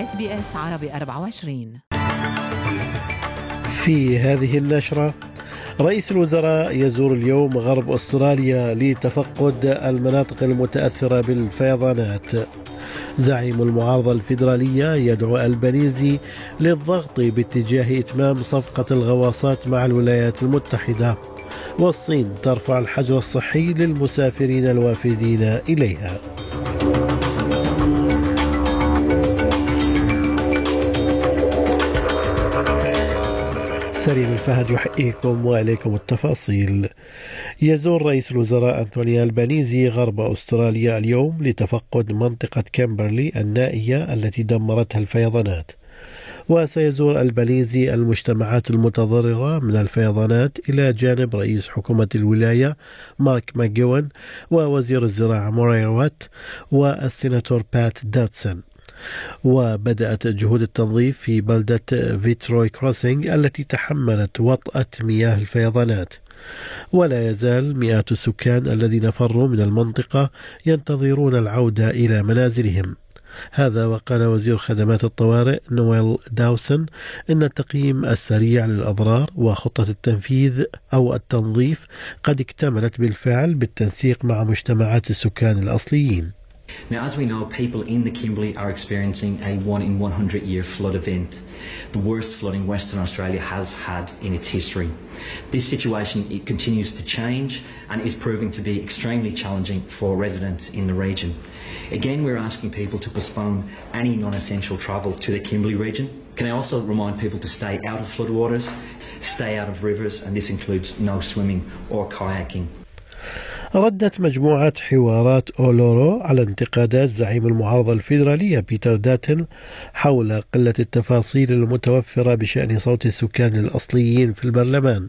SBS عربي 24. في هذه النشرة، رئيس الوزراء يزور اليوم غرب أستراليا لتفقد المناطق المتأثرة بالفيضانات. زعيم المعارضة الفيدرالية يدعو ألبانيزي للضغط باتجاه إتمام صفقة الغواصات مع الولايات المتحدة. والصين ترفع الحجر الصحي للمسافرين الوافدين إليها. سليم الفهد يحييكم وإليكم التفاصيل. يزور رئيس الوزراء أنتوني ألبانيزي غرب أستراليا اليوم لتفقد منطقة كيمبرلي النائية التي دمرتها الفيضانات. وسيزور ألبانيزي المجتمعات المتضررة من الفيضانات إلى جانب رئيس حكومة الولاية مارك ماجوين ووزير الزراعة موري وات والسيناتور بات داتسون. وبدأت جهود التنظيف في بلدة فيتروي كروسينغ التي تحملت وطأة مياه الفيضانات. ولا يزال مئات السكان الذين فروا من المنطقة ينتظرون العودة إلى منازلهم. هذا وقال وزير خدمات الطوارئ نويل داوسن إن التقييم السريع للأضرار وخطة التنفيذ أو التنظيف قد اكتملت بالفعل بالتنسيق مع مجتمعات السكان الأصليين. Now, as we know, people in the Kimberley are experiencing a 1-in-100-year flood event, the worst flooding Western Australia has had in its history. This situation continues to change and is proving to be extremely challenging for residents in the region. Again, we're asking people to postpone any non-essential travel to the Kimberley region. Can I also remind people to stay out of floodwaters, stay out of rivers, and this includes no swimming or kayaking. ردت مجموعة حوارات أولورو على انتقادات زعيم المعارضة الفيدرالية بيتر داتن حول قلة التفاصيل المتوفرة بشأن صوت السكان الأصليين في البرلمان.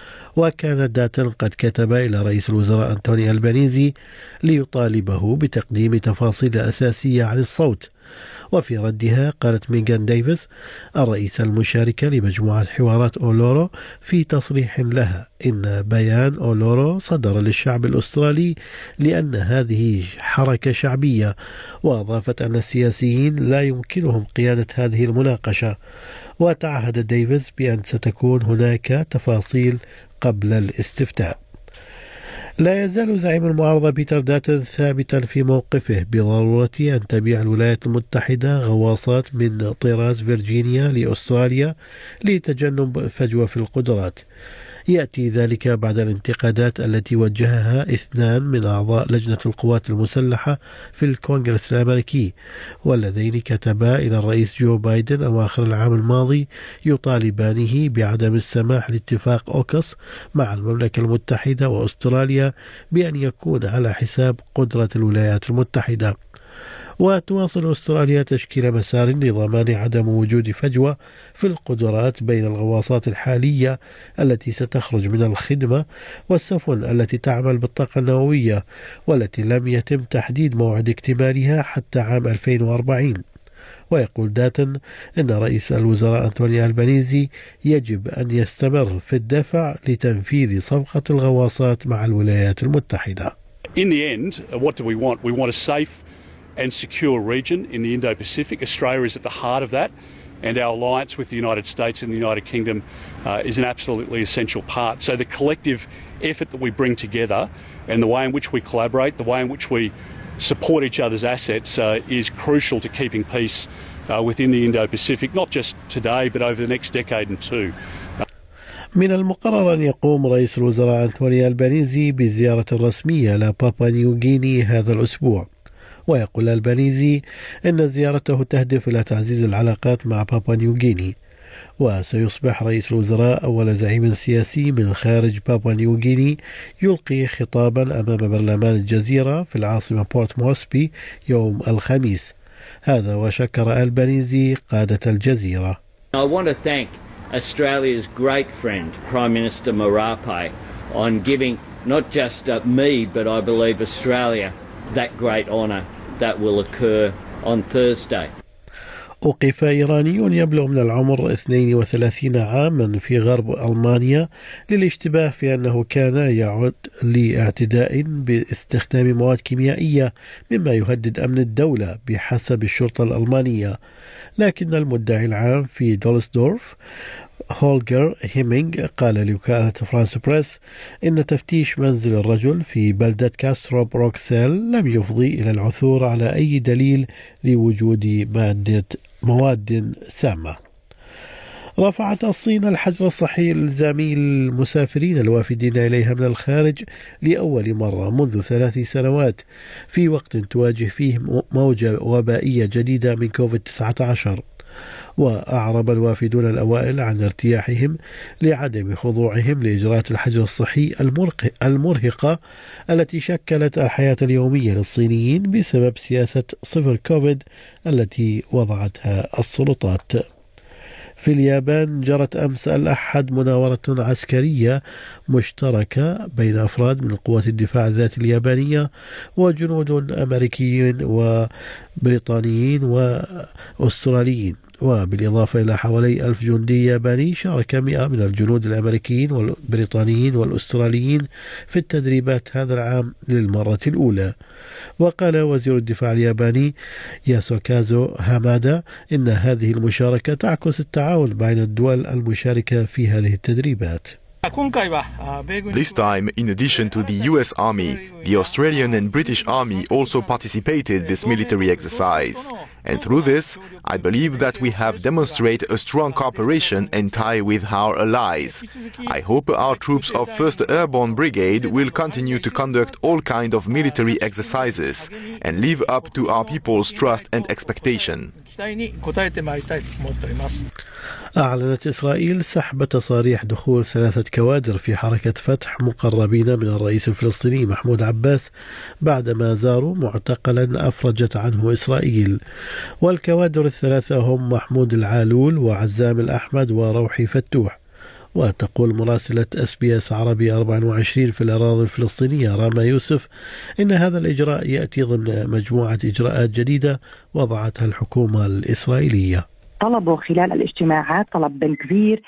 وكان داتن قد كتب إلى رئيس الوزراء أنتوني ألبانيزي ليطالبه بتقديم تفاصيل أساسية عن الصوت. وفي ردها قالت ميغان ديفيس الرئيسة المشاركة لمجموعة حوارات أولورو في تصريح لها إن بيان أولورو صدر للشعب الأسترالي لأن هذه حركة شعبية. وأضافت أن السياسيين لا يمكنهم قيادة هذه المناقشة. وتعهد ديفيس بأن ستكون هناك تفاصيل قبل الاستفتاء. لا يزال زعيم المعارضة بيتر داتن ثابتا في موقفه بضرورة أن تبيع الولايات المتحدة غواصات من طراز فيرجينيا لأستراليا لتجنب فجوة في القدرات. يأتي ذلك بعد الانتقادات التي وجهها 2 من أعضاء لجنة القوات المسلحة في الكونغرس الأمريكي، والذين كتبا إلى الرئيس جو بايدن أواخر العام الماضي يطالبانه بعدم السماح لاتفاق أوكس مع المملكة المتحدة وأستراليا بأن يكون على حساب قدرة الولايات المتحدة. وتواصل أستراليا تشكيل مسار لضمان عدم وجود فجوة في القدرات بين الغواصات الحالية التي ستخرج من الخدمة والسفن التي تعمل بالطاقة النووية والتي لم يتم تحديد موعد اكتمالها حتى عام 2040. ويقول داتن إن رئيس الوزراء أنتوني ألبانيزي يجب أن يستمر في الدفع لتنفيذ صفقة الغواصات مع الولايات المتحدة. In the end, what do we want? We want a safe and secure region in the Indo-Pacific. Australia is at the heart of that, and our alliance with the United States and the United Kingdom is an absolutely essential part. So the collective effort that we bring together and the way in which we collaborate, the way in which we support each other's assets is crucial to keeping peace within the Indo-Pacific, not just today but over the next decade and two. من المقرر أن يقوم رئيس الوزراء أنتوني ألبانيزي بزيارة رسمية لبابا نيوغيني هذا الأسبوع. ويقول ألبانيزي أن زيارته تهدف إلى تعزيز العلاقات مع بابا نيوغيني. وسيصبح رئيس الوزراء أول زعيم سياسي من خارج بابا نيوغيني يلقي خطابا أمام برلمان الجزيرة في العاصمة بورت مورسبي يوم الخميس. هذا وشكر ألبانيزي قادة الجزيرة. I want to thank Australia's great friend, Prime Minister Marape, on giving not just me, but I believe Australia, that great honour that will occur on Thursday. أوقف إيراني يبلغ من العمر 32 عاما في غرب ألمانيا للاشتباه في أنه كان يعد لاعتداء باستخدام مواد كيميائية مما يهدد أمن الدولة بحسب الشرطة الألمانية، لكن المدعي العام في دولسدورف هولجر هيمينغ قال لوكالة فرانس بريس إن تفتيش منزل الرجل في بلدة كاسترو بروكسل لم يفضي إلى العثور على أي دليل لوجود مواد سامة. رفعت الصين الحجر الصحي الإلزامي للمسافرين الوافدين إليها من الخارج لأول مرة منذ 3 سنوات في وقت تواجه فيه موجة وبائية جديدة من كوفيد-19. وأعرب الوافدون الأوائل عن ارتياحهم لعدم خضوعهم لإجراءات الحجر الصحي المرهقة التي شكلت الحياة اليومية للصينيين بسبب سياسة صفر كوفيد التي وضعتها السلطات. في اليابان جرت أمس الأحد مناورة عسكرية مشتركة بين أفراد من قوات الدفاع الذاتي اليابانية وجنود أمريكيين وبريطانيين وأستراليين، وبالإضافة إلى حوالي 1000 جندي ياباني شارك 100 من الجنود الأمريكيين والبريطانيين والأستراليين في التدريبات هذا العام للمرة الأولى. وقال وزير الدفاع الياباني ياسوكازو هامادا إن هذه المشاركة تعكس التعاون بين الدول المشاركة في هذه التدريبات. This time, in addition to the US Army, the Australian and British Army also participated in this military exercise. And through this, I believe that we have demonstrated a strong cooperation and tie with our allies. I hope our troops of 1st Airborne Brigade will continue to conduct all kinds of military exercises and live up to our people's trust and expectation. أعلنت إسرائيل سحب تصاريح دخول 3 كوادر في حركة فتح مقربين من الرئيس الفلسطيني محمود عباس بعدما زاروا معتقلا أفرجت عنه إسرائيل. والكوادر ال3 هم محمود العالول وعزام الأحمد وروحي فتوح. وتقول مراسلة SBS عربي 24 في الأراضي الفلسطينية راما يوسف إن هذا الإجراء يأتي ضمن مجموعة إجراءات جديدة وضعتها الحكومة الإسرائيلية. طلبوا خلال الاجتماعات طلب بن كبير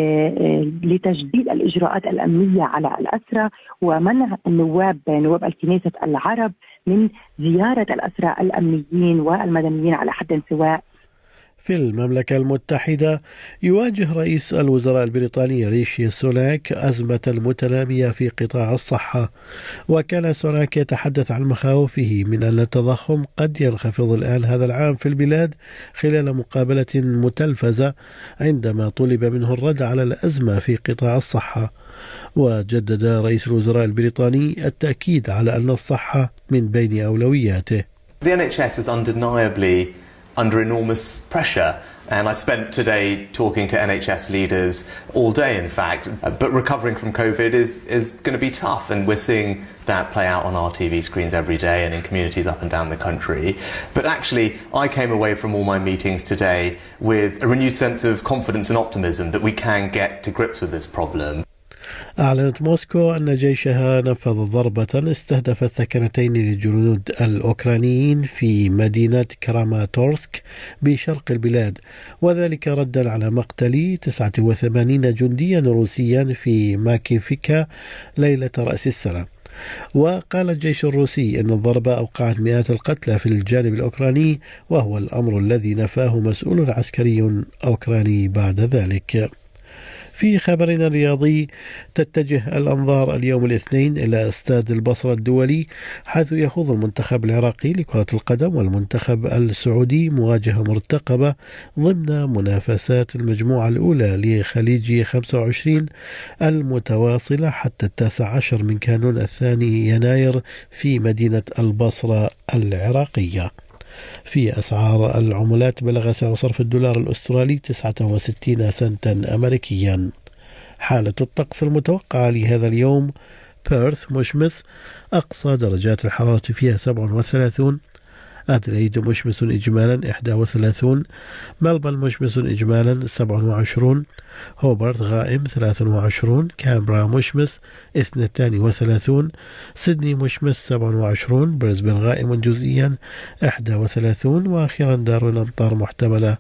لتجديد الإجراءات الأمنية على الأسرى ومنع نواب الكنيسة العرب من زيارة الأسرى الأمنيين والمدنيين على حد سواء. في المملكة المتحدة يواجه رئيس الوزراء البريطاني ريشي سوناك أزمة متنامية في قطاع الصحة، وكان سوناك يتحدث عن مخاوفه من أن التضخم قد ينخفض الآن هذا العام في البلاد خلال مقابلة متلفزة عندما طلب منه الرد على الأزمة في قطاع الصحة. وجدد رئيس الوزراء البريطاني التأكيد على أن الصحة من بين أولوياته. The NHS is undeniably under enormous pressure, and I spent today talking to NHS leaders all day, in fact, but recovering from COVID is going to be tough, and we're seeing that play out on our TV screens every day and in communities up and down the country. But actually, I came away from all my meetings today with a renewed sense of confidence and optimism that we can get to grips with this problem. أعلنت موسكو أن جيشها نفذ ضربة استهدفت ثكنتين للجنود الأوكرانيين في مدينة كراماتورسك بشرق البلاد، وذلك ردا على مقتل 89 جنديا روسيا في ماكيفيكا ليلة رأس السنة. وقال الجيش الروسي أن الضربة أوقعت مئات القتلى في الجانب الأوكراني، وهو الأمر الذي نفاه مسؤول عسكري أوكراني بعد ذلك. في خبرنا الرياضي تتجه الأنظار اليوم الاثنين إلى استاد البصرة الدولي، حيث يخوض المنتخب العراقي لكرة القدم والمنتخب السعودي مواجهة مرتقبة ضمن منافسات المجموعة الأولى لخليج 25 المتواصلة حتى 19 من كانون 2 يناير في مدينة البصرة العراقية. في أسعار العملات بلغ سعر صرف الدولار الأسترالي 69 سنتا أمريكيا. حالة الطقس المتوقعة لهذا اليوم: بيرث مشمس، أقصى درجات الحرارة فيها 37، أدليد مشمس إجمالا 31، ملبن مشمس إجمالا 27، هوبرت غائم 23، كامبرا مشمس 32، سيدني مشمس 27، بريسبن غائم جزئيا 31، وأخيرا دار الأمطار محتملة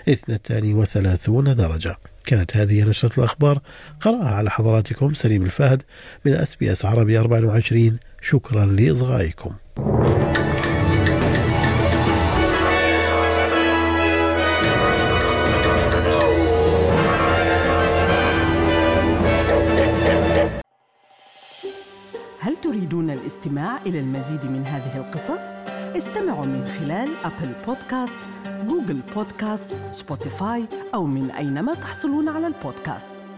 32 درجة. كانت هذه نشرة الأخبار، قرأها على حضراتكم سليم الفهد من SBS عربي 24. شكرا لإصغائكم. هل تريدون الاستماع إلى المزيد من هذه القصص؟ استمعوا من خلال أبل بودكاست، جوجل بودكاست، سبوتيفاي أو من أينما تحصلون على البودكاست.